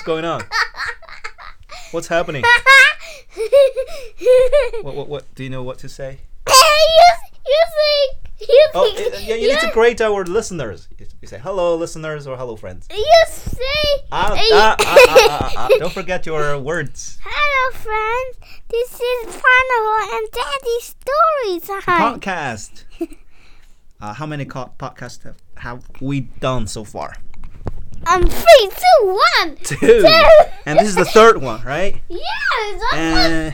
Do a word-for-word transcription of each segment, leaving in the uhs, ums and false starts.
going on? What's happening? What, what, what? Do you know what to say? you, you say, you Oh, say, yeah, you need to greet our listeners. You say hello, listeners, or hello, friends. You say, Ah, uh, ah, ah, ah, ah, ah. Don't forget your words. hello, friends. This is Carnival and Daddy's story time. Podcast. Uh, how many co- podcasts have, have we done so far? Um, three, two, one. Two. Two. And this is the third one, right? Yes. Uh,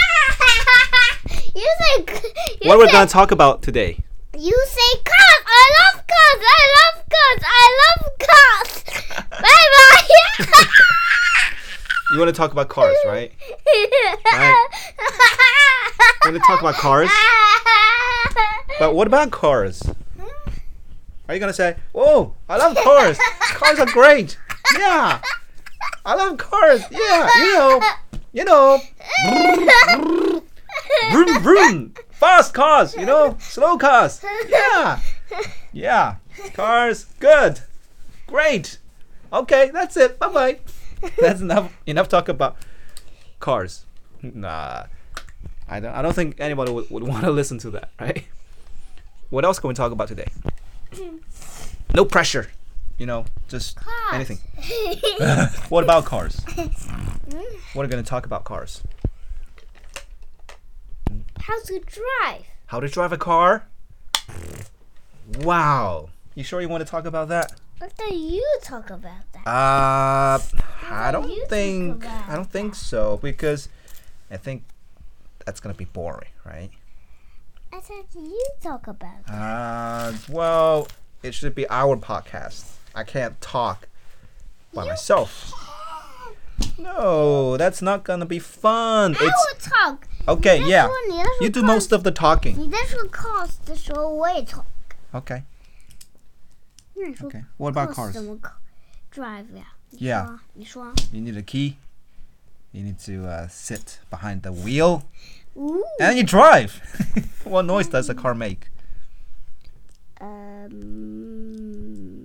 you say. You what say, we're going to talk about today? You say cars. I love cars. I love cars. I love cars. Bye bye. You want to talk about cars, right? Right. You want to talk about cars? But what about cars? Are you going to say, oh, I love cars. Cars are great. Yeah. I love cars. Yeah. You know. You know. Vroom, vroom. Fast cars. You know. Slow cars. Yeah. Yeah. Cars. Good. Great. Okay. That's it. Bye-bye. That's enough. Enough talk about cars. Nah. I don't, I don't think anybody would, would want to listen to that, right? What else can we talk about today? No pressure. You know, just Cars. anything. What about cars? What are we going to talk about cars? How to drive. How to drive a car? Wow. You sure you want to talk about that? What do you talk about that? Uh, I do you don't think talk about I don't think so because I think that's going to be boring, right? I said you talk about that. Uh, well, it should be our podcast. I can't talk by You myself. No, that's not gonna be fun. I It's will talk. okay. 你在 Yeah, 说你在说 you do cars- most of the talking. 你在说 cars 的时候我也 talk。 Okay. 那你说 Okay. What about cars cars? 怎么 drive 呀？ Yeah. 你说啊。 You need a key. You need to uh, sit behind the wheel, 你说啊。 and you drive. What noise does a car make? Um,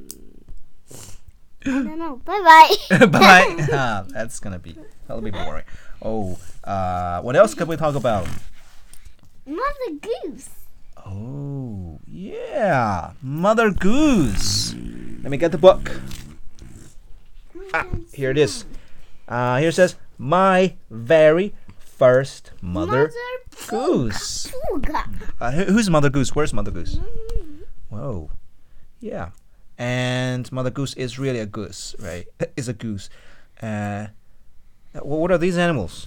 no, no. Bye bye. Bye. Ah, that's gonna be that'll be boring. Oh, uh, what else could we talk about? Mother Goose. Oh, yeah. Mother Goose. Let me get the book. Ah, here it is. Uh, here it says, My very first Mother, Goose. Puga. Uh, who- who's Mother Goose? Where's Mother Goose? Whoa. Yeah. And Mother Goose is really a goose, right? Is a goose. Uh, wh- what are these animals?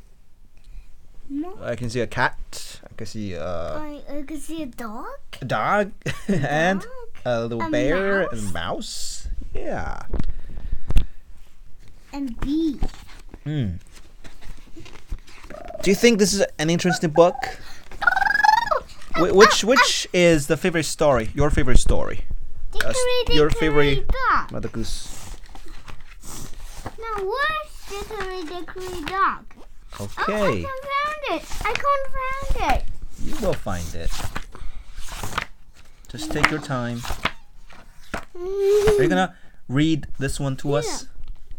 No. I can see a cat. I can see uh, I, I can see a dog. a dog and Dog. a little A bear mouse. and a mouse. Yeah. And bee. Hmm. Do you think this is an interesting book? Wh- which which is the favorite story? Your favorite story? Dickory, your dickory, favorite- dog. Mother Goose. Now where's Dickory Dickory Dog? Oh, I Okay. can't find it. I can't find it. You will find it. Just take your time. Are you gonna read this one to us?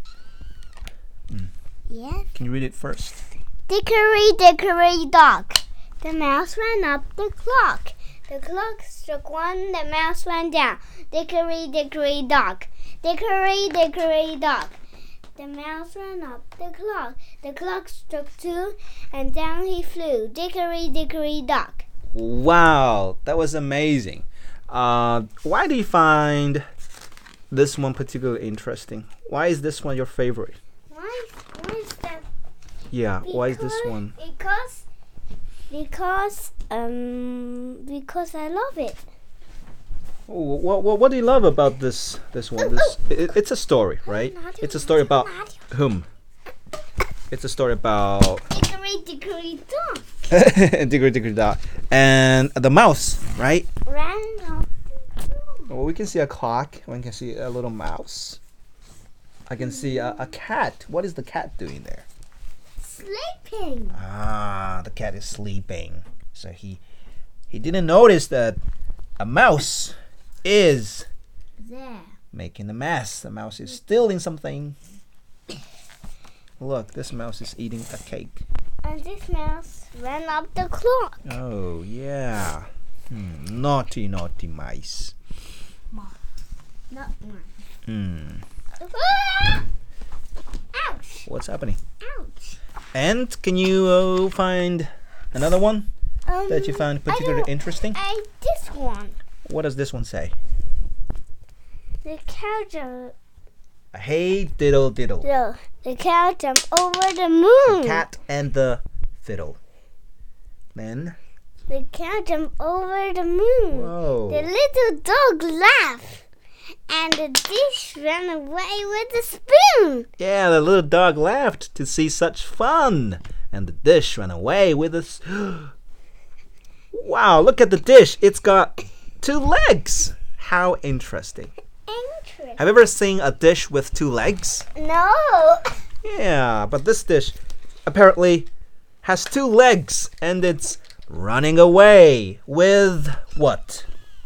Yes. Can you read it first? Dickory Dickory Dog. The mouse ran up the clock. The clock struck one, the mouse ran down. Dickory Dickory Dog. Dickory Dickory Dog. The mouse ran up the clock. The clock struck two, and down he flew. Dickory Dickory Dog. Wow, that was amazing. Uh, why do you find this one particularly interesting? Why is this one your favorite? Why, why is that? Yeah, why is this Because- one? Because, because, um, because I love it. Oh, what, what, what do you love about this this one? This it, it's a story, right? It's a story about whom? It's a story about Dickory Dickory Dog. Dickory Dickory Dog and the mouse, right? Ran up. Well, we can see a clock. We can see a little mouse. I can see a, a cat. What is the cat doing there? Sleeping. Ah, the cat is sleeping. So he he didn't notice that a mouse is There. making a mess. The mouse is stealing something. Look, this mouse is eating a cake. And this mouse ran up the clock. Oh, yeah. Hmm. Naughty, naughty mice. Not mine. Hmm. Ah! Ouch! What's happening? Ouch! And can you uh, find another one Um, that you found I particularly don't- interesting? I this one. What does this one say? The cow jumped. Hey, diddle diddle. The, the cow jumped over the moon. The cat and the fiddle. Then, The cow jumped over the moon. whoa. The little dog laughed, and the dish ran away with the spoon. Yeah, the little dog laughed to see such fun. And the dish ran away with us. Wow, look at the dish. It's got two legs. How interesting. Interesting. Have you ever seen a dish with two legs? No. Yeah, but this dish apparently has two legs and it's running away with what?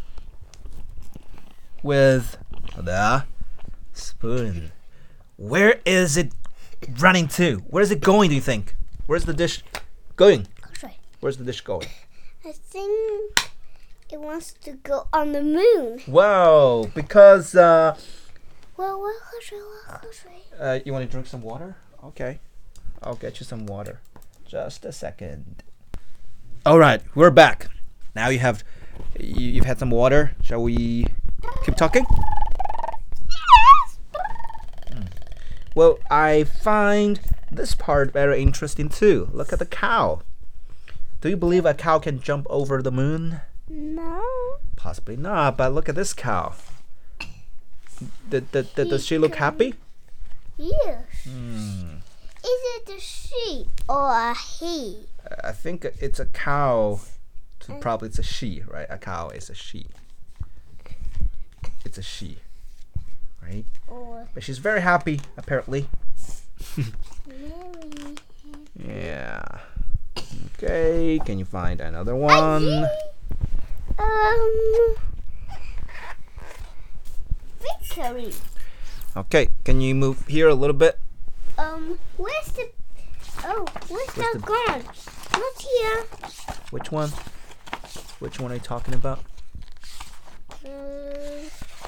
With the spoon. Where is it running to? Where is it going, do you think? Where's the dish going? Sorry. Where's the dish going? I think it wants to go on the moon. Wow, because uh, Well, well, hush, well, hush. uh you want to drink some water? Okay. I'll get you some water. Just a second. All right, we're back. Now you have you, you've had some water. Shall we keep talking? Mm. Well, I find this part very interesting too. Look at the cow. Do you believe a cow can jump over the moon? No. Possibly not, but look at this cow. Did, did, did, does she look happy? Yes. Hmm. Is it a she or a he? I think it's a cow. So probably it's a she, right? A cow is a she. It's a she, right? Or But she's very happy, apparently. Mary? Yeah. Okay, can you find another one? Um. Victory. Okay, can you move here a little bit? Um. Where's the? Oh, where's, Where's that the- gone? Not here. Which one? Which one are you talking about? Um.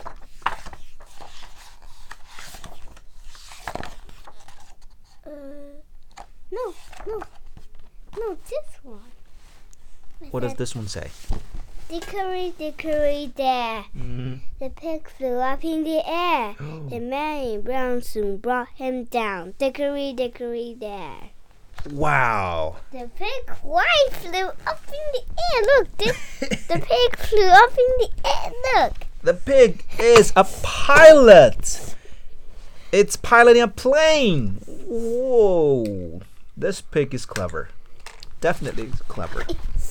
Uh. No, no, no. This one. What does this one say? Dickory, dickory, there. Mm-hmm. The pig flew up in the air. The man in brown soon brought him down. Dickory, dickory, there. Wow. The pig white flew up in the air. Look, this, the pig flew up in the air. Look. The pig is a pilot. It's piloting a plane. Whoa. This pig is clever. Definitely clever.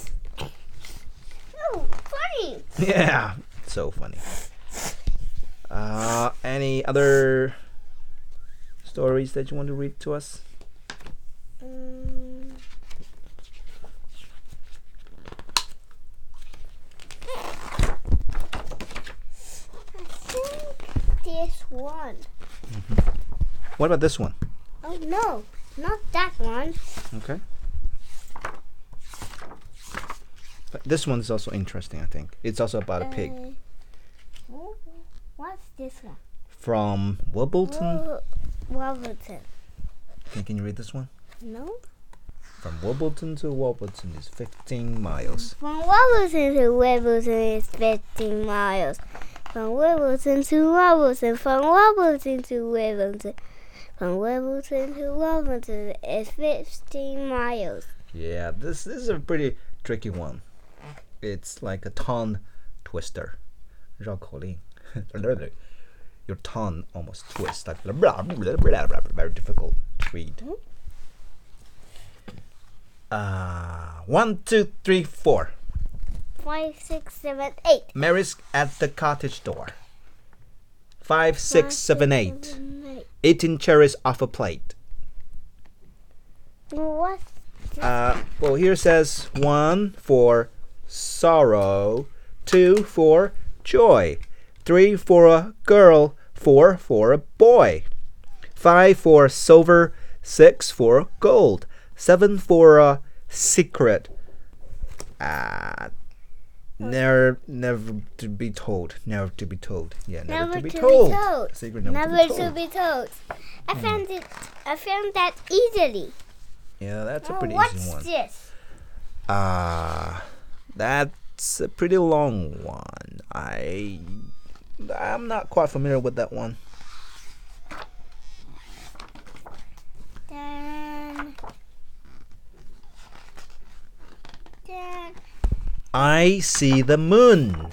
Oh, funny. Yeah. So funny. Uh, any other stories that you want to read to us? Um, I think this one. What about this one? Oh no, not that one. Okay. But this one is also interesting, I think. It's also about a pig. Uh, wh- what's this one? From Wimbledon. Wo- Wolverton. Can, can you read this one? No. From Wimbledon to Wimbledon is fifteen miles. From Wolverton to Wimbledon is fifteen miles. From Wimbledon to Wolverton. From Wolverton to Wimbledon. From Wimbledon to Wolverton is fifteen miles. Yeah, this, this is a pretty tricky one. It's like a tongue twister. 绕口令. Your tongue almost twists. Like very difficult to read. Uh, one, two, three, four. Five, six, seven, eight. Mary's at the cottage door. Five, six, seven, eight. seven, eight. Eating cherries off a plate. What? Uh, well, here says one for sorrow, two for joy, three for a girl, four for a boy, five for silver, Six for gold. Seven for a secret. Ah, never, never to be told. Never to be told. Yeah, never, Never to be to be told. told. Secret never, Never to be to told. be told. I found it. I found that easily. Yeah, that's a Oh, pretty what's easy one. this? Ah, that's a pretty long one. I, I'm not quite familiar with that one. Then, then, I see the moon.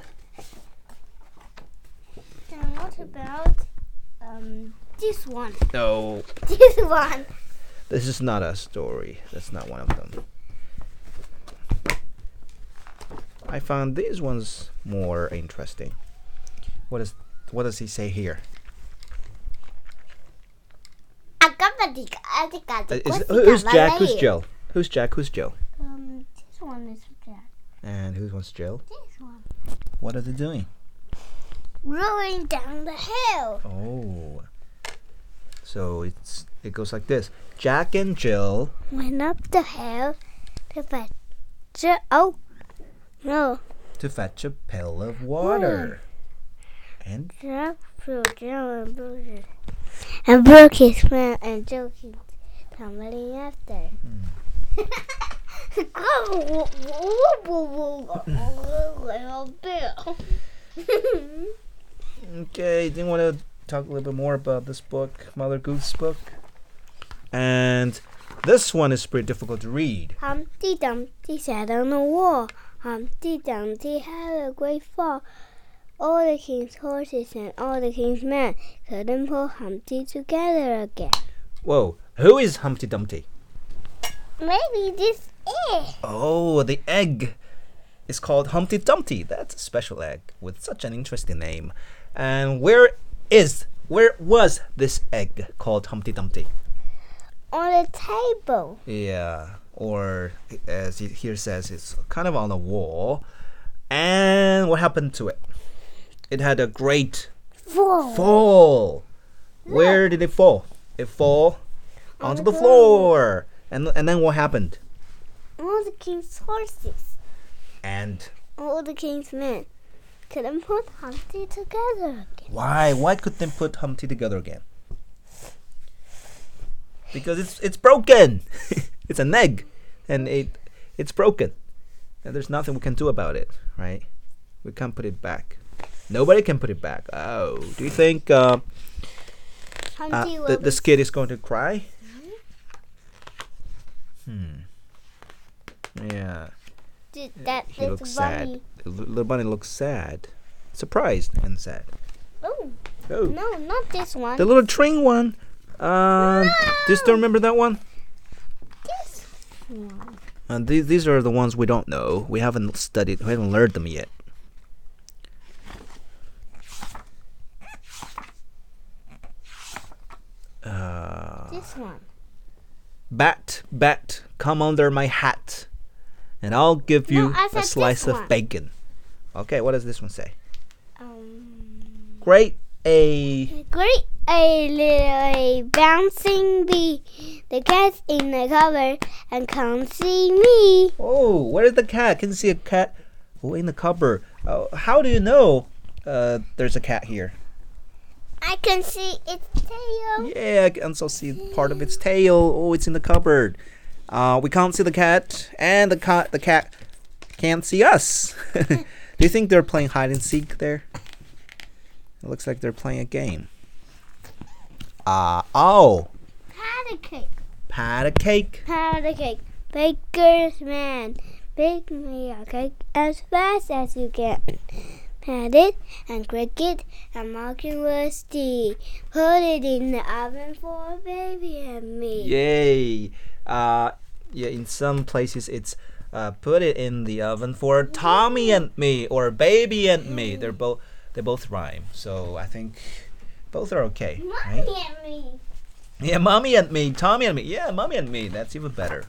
then what about um this one? No, This one. this is not a story. That's not one of them. I found these ones more interesting. What is what does he say here? Uh, is- who's Jack? Who's Jill? Who's Jack? Who's Jill? Um, this one is Jack. And who was Jill? This one. What are they doing? Rolling down the hill. Oh, so it's it goes like this: Jack and Jill Went up the hill to fetch. a- Oh, no. to fetch a pail of water. And Jack threw Jill and broke it. And broke his man and joking, tumbling after. okay, do you want to talk a little bit more about this book, Mother Goose book? And this one is pretty difficult to read. Humpty Dumpty sat on the wall. Humpty Dumpty had a great fall. All the king's horses and all the king's men couldn't pull Humpty together again. Whoa, who is Humpty Dumpty? Maybe this is. Oh, the egg is called Humpty Dumpty. That's a special egg with such an interesting name. And where is, where was this egg called Humpty Dumpty? On the table. Yeah, or as it here says, it's kind of on the wall. And what happened to it? It had a great Fall. fall. Where did it fall? It fall On onto the the floor. And and then what happened? All the king's horses, And all the king's men couldn't put Humpty together again. why? Why couldn't they put Humpty together again? Because it's it's broken. It's an egg, and it it's broken, and there's nothing we can do about it, right? We can't put it back. Nobody can put it back. Oh, do you think uh, uh, Humpty the, will this kid is going to cry? Hmm. Yeah. be that He little looks bunny. sad. The little bunny looks sad, surprised and sad. Oh, Oh, no, not this one. the little train one. Um, do you still remember that one? this one. And these these are the ones we don't know. We haven't studied. We haven't learned them yet. Uh, This one. bat, bat, come under my hat, and I'll give you No, I a said slice this of one. bacon. Okay, what does this one say? Um, Great a great a little a bouncing bee. The cat's in the cupboard and can't see me. Oh, where's the cat? Can you see a cat? Oh, in the cupboard. Oh, how do you know uh, there's a cat here? I can see its tail. Yeah, I can also see part of its tail. Oh, it's in the cupboard. Uh, we can't see the cat, and the cat the cat can't see us. Do you think they're playing hide and seek there? It looks like they're playing a game. Uh, oh, Pat a cake. pat a cake. Pat a cake. Baker's man. Bake me a cake as fast as you can. Pat it and crack it and mark it rusty. Put it in the oven for baby and me. Yay! Uh, yeah, in some places it's uh, put it in the oven for Tommy and me or baby and me. They're both they both rhyme, so I think both are okay, right? Mommy and me. Yeah, mommy and me, Tommy and me. Yeah, mommy and me. That's even better.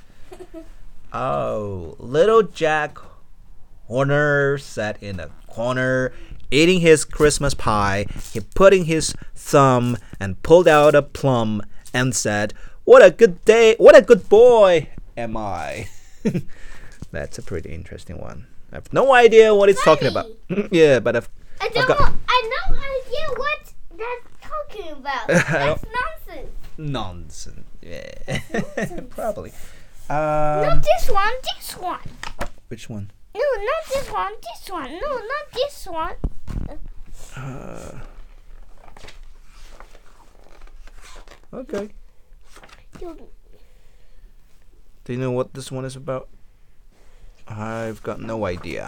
Oh, little Jack Horner sat in a corner eating his Christmas pie. He put in his thumb and pulled out a plum and said, What a good day. What a good boy am I. That's a pretty interesting one. I have no idea what it's talking about. Yeah, but I've, I I've don't. got I no idea what that's talking about. That's nonsense. nonsense. Yeah, Nonsense. probably. Not Um, this one. This one. which one? No, not this one. This one. No, not this one. Uh, okay. You, Do you know what this one is about? I've got no idea.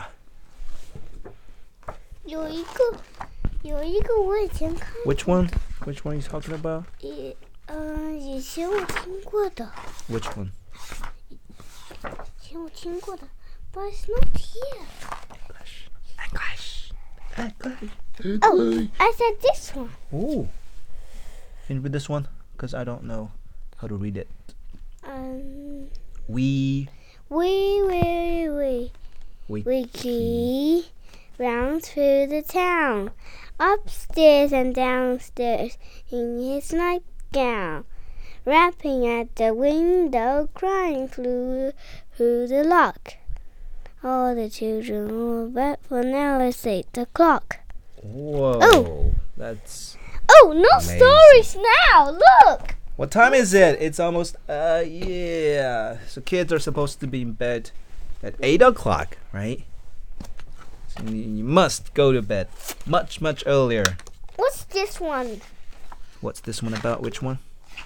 有一个，有一个我以前看， Which one? Which one are you talking about? 以嗯，以前我听过的， Which one? 以前我听过的 ，but it's not here. English. English. English. Oh, I said this one. Oh. Can you read this one? Because I don't know how to read it. Um, We. we, we, we, We. we key round through the town, upstairs and downstairs in his nightgown, rapping at the window, crying through through the lock. All the children were back for now it's eight o'clock. Whoa. Oh. That's. Oh, no Amazing. stories now! Look! What time is it? It's almost. Uh, yeah. So kids are supposed to be in bed at eight o'clock, right? So you, you must go to bed much, much earlier. What's this one? What's this one about? Which one?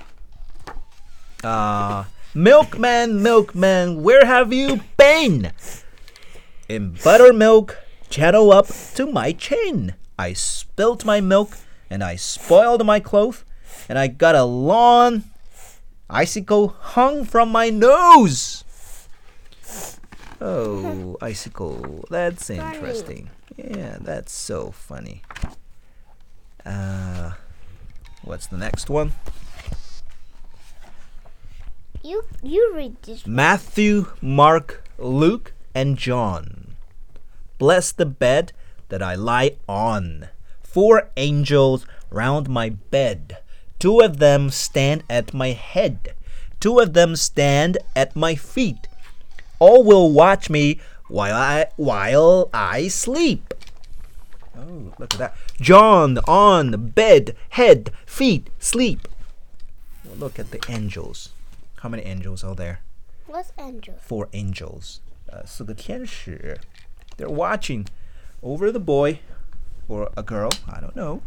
Uh, milkman, milkman, where have you been? In buttermilk, channel up to my chin. I spilt my milk and I spoiled my clothes and I got a long icicle hung from my nose. Oh, icicle. That's interesting. Yeah, that's so funny. Uh, what's the next one? You you read this one. Matthew, Mark, Luke, and John. Bless the bed that I lie on. Four angels round my bed. Two of them stand at my head. Two of them stand at my feet. All will watch me while I while I sleep. Oh, look at that. John on bed, head, feet, sleep. Well, look at the angels. How many angels are there? What's Andrew? Four angels. Uh, 四个天使. They're watching over the boy or a girl. I don't know.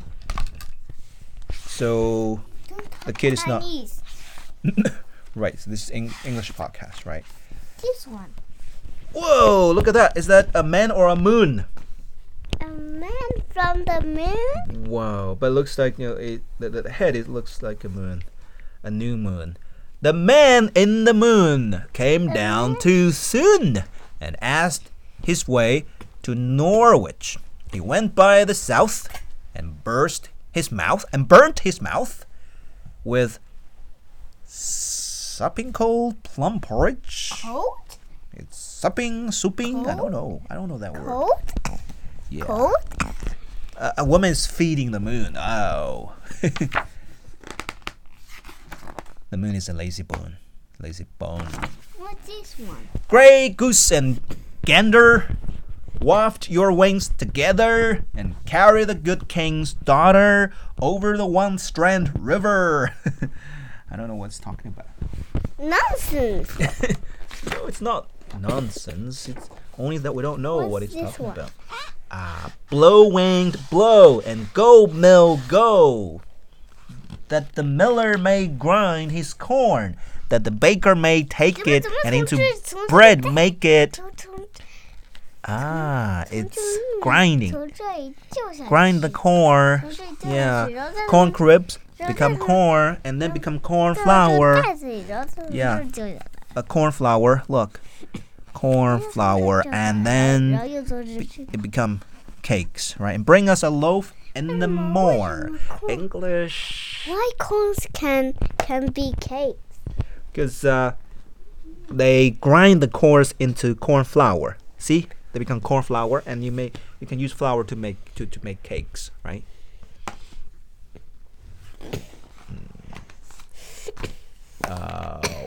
So the kid is not Chinese. right. So this is Eng- English podcast, right? This one. Whoa! Look at that. Is that a man or a moon? A man from the moon? Wow! But it looks like you know it, the, the head. It looks like a moon, a new moon. The man in the moon came down too soon and asked his way to Norwich. He went by the south and burst his mouth and burnt his mouth with supping cold plum porridge. Cold? It's supping, souping. I don't know. I don't know that word. Cold? Yeah. Cold? Uh, a woman's feeding the moon. Oh. The moon is a lazy bone. Lazy bone. What's this one? Grey goose and gander, waft your wings together and carry the good king's daughter over the one strand river. I don't know what it's talking about. Nonsense. No, it's not nonsense. It's only that we don't know What's what it's this talking one? about. Ah, blow winged blow and go mill go. That the miller may grind his corn, that the baker may take it and into bread make it. Ah, it's grinding. Grind the corn. Yeah, corn crisps become corn and then become corn flour. Yeah, a corn flour. Look, corn flour, and then it become cakes, right? And bring us a loaf and the more. English. Why corns can can be cakes? Because uh, they grind the corns into corn flour. See, they become corn flour, and you make you can use flour to make to, to make cakes, right?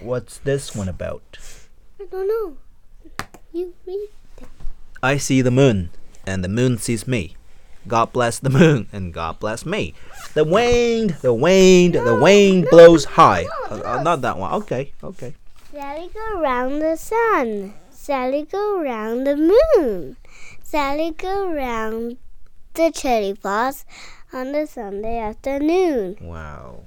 What's this one about? I don't know. You read it. I see the moon, and the moon sees me. God bless the moon, and God bless me. The wind, the wind, No, the wind no, blows no, high. no, Uh, uh, no. not that one. Okay, okay. Sally go round the sun. Sally go round the moon. Sally go round the cherry blossom on the Sunday afternoon. Wow.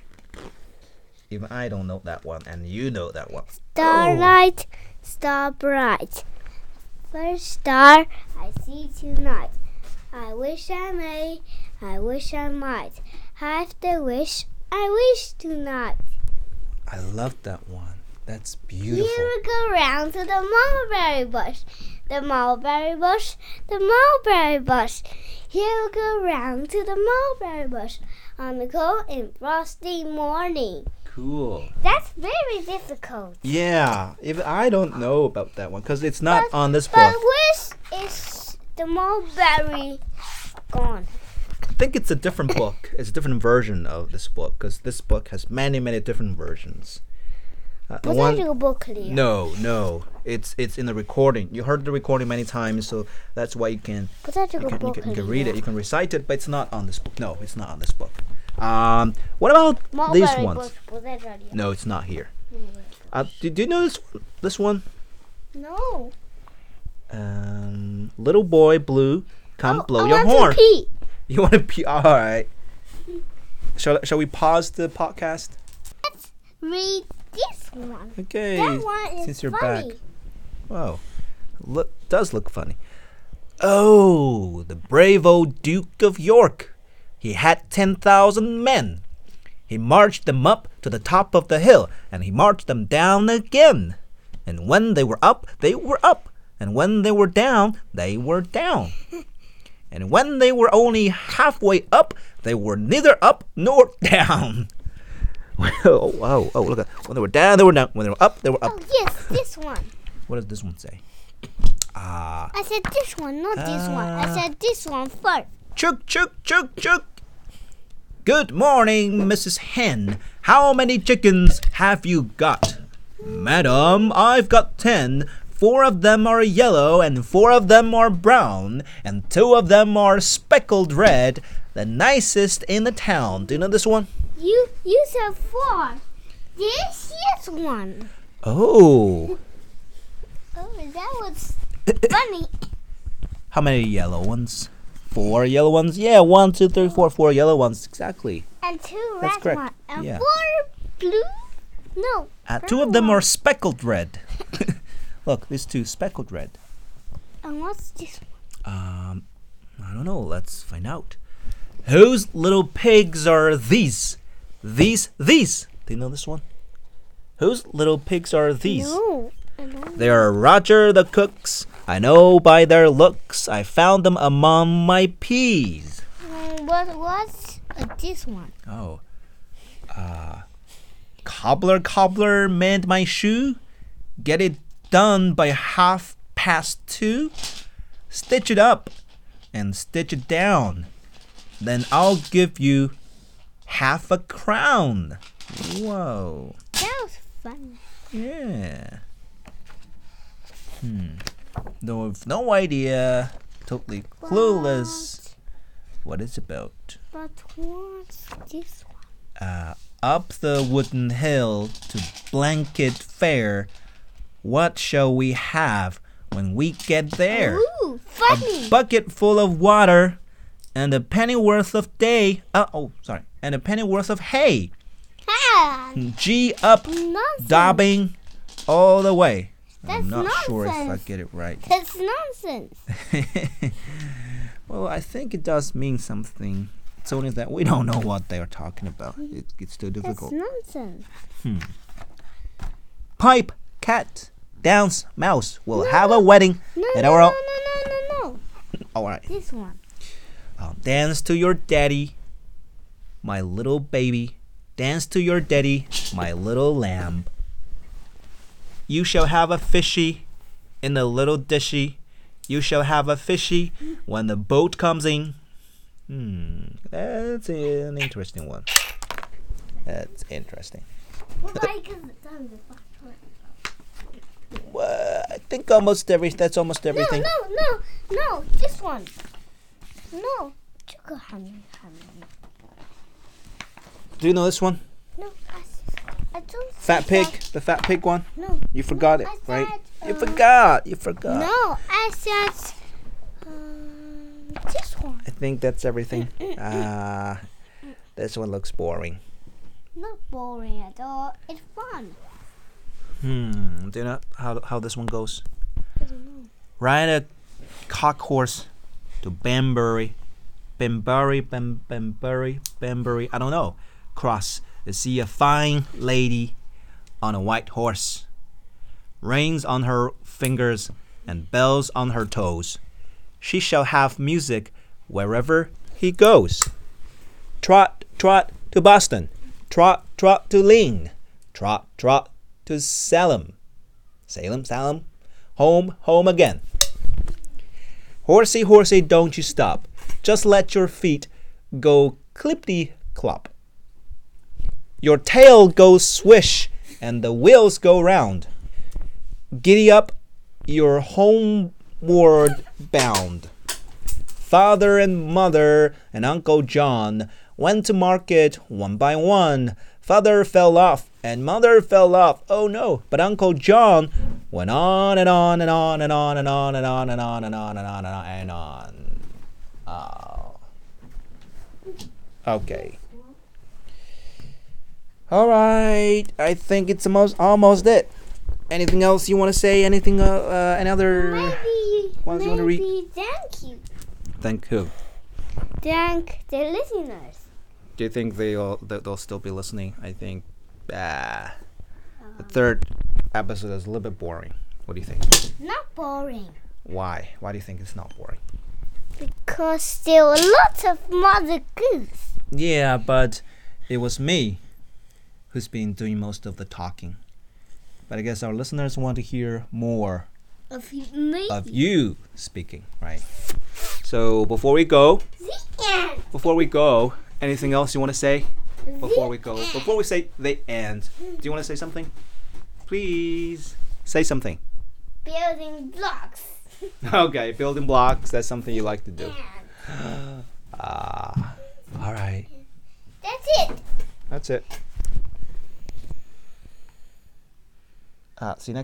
Even I don't know that one, and you know that one. Starlight, star bright. First star I see tonight. I wish I may, I wish I might. Have the wish I wish tonight. I love that one. That's beautiful. Here we go round to the mulberry bush. The mulberry bush, the mulberry bush. Here we go round to the mulberry bush on the cold and frosty morning. Cool. That's very difficult. Yeah, if I don't know about that one because it's not But- on this But book. where is the mulberry gone? I think it's a different book. It's a different version of this book because this book has many, many different versions. Uh, the Was one- that your book, Leo? No, no. It's it's in the recording. You heard the recording many times, so that's why you can Was that your you can, you book, can, you can Leo? read it. You can recite it, but it's not on this book. No, it's not on this book. Um, what about Mulberry these ones? bush, was that right here? No, it's not here. No. Uh, did you know this this one? No. Um, little boy blue, come Oh, blow I your want horn. To pee. You want to pee? All right. Shall shall we pause the podcast? Let's read this one. Okay. That one is since you're funny. back. Wow. Look, does look funny. Oh, the brave old Duke of York. He had ten thousand men. He marched them up to the top of the hill, and he marched them down again. And when they were up, they were up. And when they were down, they were down. And when they were only halfway up, they were neither up nor down. oh, wow. Oh, look at when they were down, they were down. When they were up, they were up. Oh, yes, this one. What does this one say? Ah. I said this one, not this one. I Ah. said this one first. Chook, chook, chook, chook. Good morning, Missus Hen. How many chickens have you got? Madam, I've got ten. Four of them are yellow, and four of them are brown, and two of them are speckled red. The nicest in the town. Do you know this one? You you said four. This is one. Oh. Oh, that was funny. How many yellow ones? Four yellow ones? Yeah, one, two, three, four, four yellow ones. Exactly. And two That's red correct. ones. And Yeah. four blue. No. Uh, two of them are speckled red. Look, these two speckled red. And what's this one? Um, I don't know. Let's find out. Whose little pigs are these? These, these. Do you know this one? Whose little pigs are these? No. I don't. They are Roger the cook's. I know by their looks. I found them among my peas. Um, what what's uh, this one? Oh. Uh, cobbler, cobbler, mend my shoe. Get it done by half past two. Stitch it up and stitch it down. Then I'll give you half a crown. Whoa. That was fun. Yeah. Hmm. No, no idea. Totally clueless. What it's about. But what's this one? Uh, up the wooden hill to Blanket Fair. What shall we have when we get there? Ooh, funny. A bucket full of water and a pennyworth of day. Uh, oh, sorry. And a pennyworth of hay. Ah, G up, nonsense. dobbing all the way. I'm That's not sure if I nonsense. get it right. That's nonsense. Well, I think it does mean something. It's only that we don't know what they are talking about. It, it's too That's difficult. nonsense. Pipe, cat, dance, mouse. We'll No, have a wedding. No, at no, our no, own- no, no, no, no. All right. This one. I'll dance to your daddy, my little baby. Dance to your daddy, my little lamb. You shall have a fishy in a little dishy. You shall have a fishy when the boat comes in. Hmm, that's an interesting one. That's interesting. Well, I think almost every. That's almost everything. No, no, no, no. This one. No. 这个还没还没 Do you know this one? No, I, I don't. Fat pig, the fat pig one. No. You forgot it, I right? said, You uh, forgot. You forgot. No, I said um, this one. I think that's everything. Ah, uh, this one looks boring. Not boring at all. It's fun. Hmm. Do you know how how this one goes? I don't know. Ride a cock horse to Banbury, Banbury, Bam, Banbury, Banbury. I don't know. Cross to see a fine lady on a white horse. Rings on her fingers and bells on her toes. She shall have music wherever he goes. Trot, trot to Boston. Trot, trot to Ling. Trot, trot to Salem. Salem, Salem. Home, home again. Horsey, horsey, don't you stop. Just let your feet go clippity-clop. Your tail goes swish and the wheels go round. Giddy up, you're homeward bound. Father and mother and Uncle John went to market one by one. Father fell off and mother fell off. Oh no, but Uncle John went on and on and on and on and on and on and on and on and on and on and on. Oh. Okay. All right. I think it's almost almost it. Anything else you want to say? Anything? Uh, uh another Maybe. ones you want to read? Maybe thank you. Thank who? Thank the listeners. Do you think they'll they'll still be listening? I think. Ah. The third episode is a little bit boring. What do you think? Not boring. Why? Why do you think it's not boring? Because there were lots of Mother Goose. Yeah, but it was me who's been doing most of the talking. But I guess our listeners want to hear more Of me. of you speaking, right? So before we go, The end. before we go, anything else you want to say? Before The we go, end. before we say the end, do you want to say something? Please say something. Building blocks. Okay, building blocks. That's something you like to do. And Ah, all right. that's it. That's it. Uh, see you next.